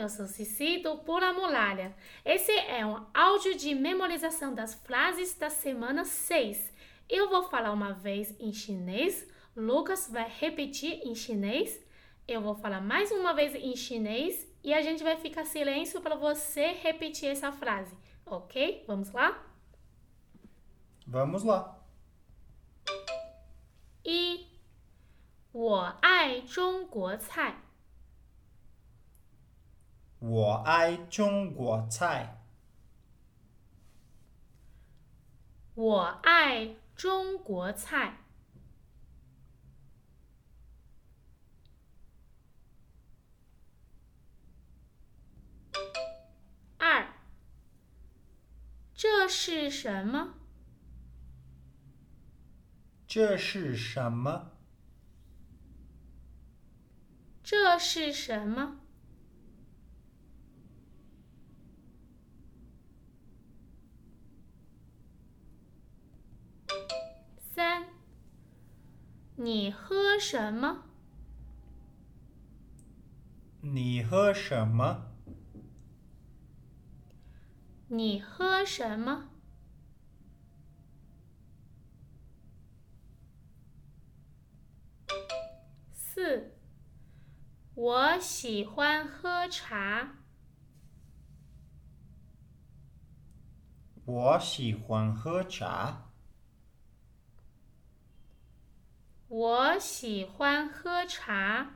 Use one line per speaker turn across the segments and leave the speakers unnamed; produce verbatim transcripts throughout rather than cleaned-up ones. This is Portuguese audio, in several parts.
eu sou Cici do Pula Muralha. Esse é um áudio de memorização das frases da semana seis. Eu vou falar uma vez em chinês, Lucas vai repetir em chinês, eu vou falar mais uma vez em chinês e a gente vai ficar silêncio para você repetir essa frase, ok? Vamos lá?
Vamos lá.
一，我爱中国菜。
我爱中国菜。
我爱中国菜。二，这是什么？
这是什么？
这是什么？三，你喝什么？
你喝什么？
你喝什么？四，我喜欢喝茶。
我喜欢喝茶。
我喜欢喝茶。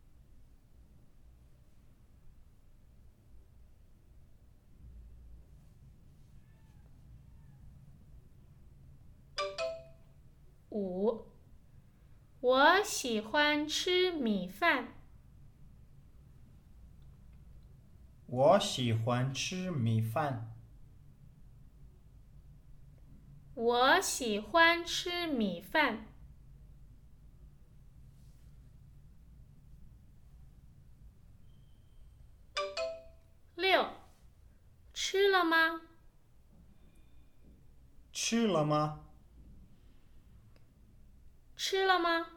五，我喜欢吃米饭。
我喜欢吃米饭。
我喜欢吃米饭。六，吃了吗？
吃了吗？
吃了吗？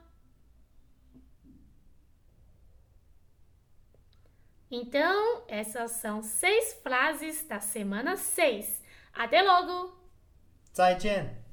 Então, essas são seis frases da semana seis. Até logo!
再见。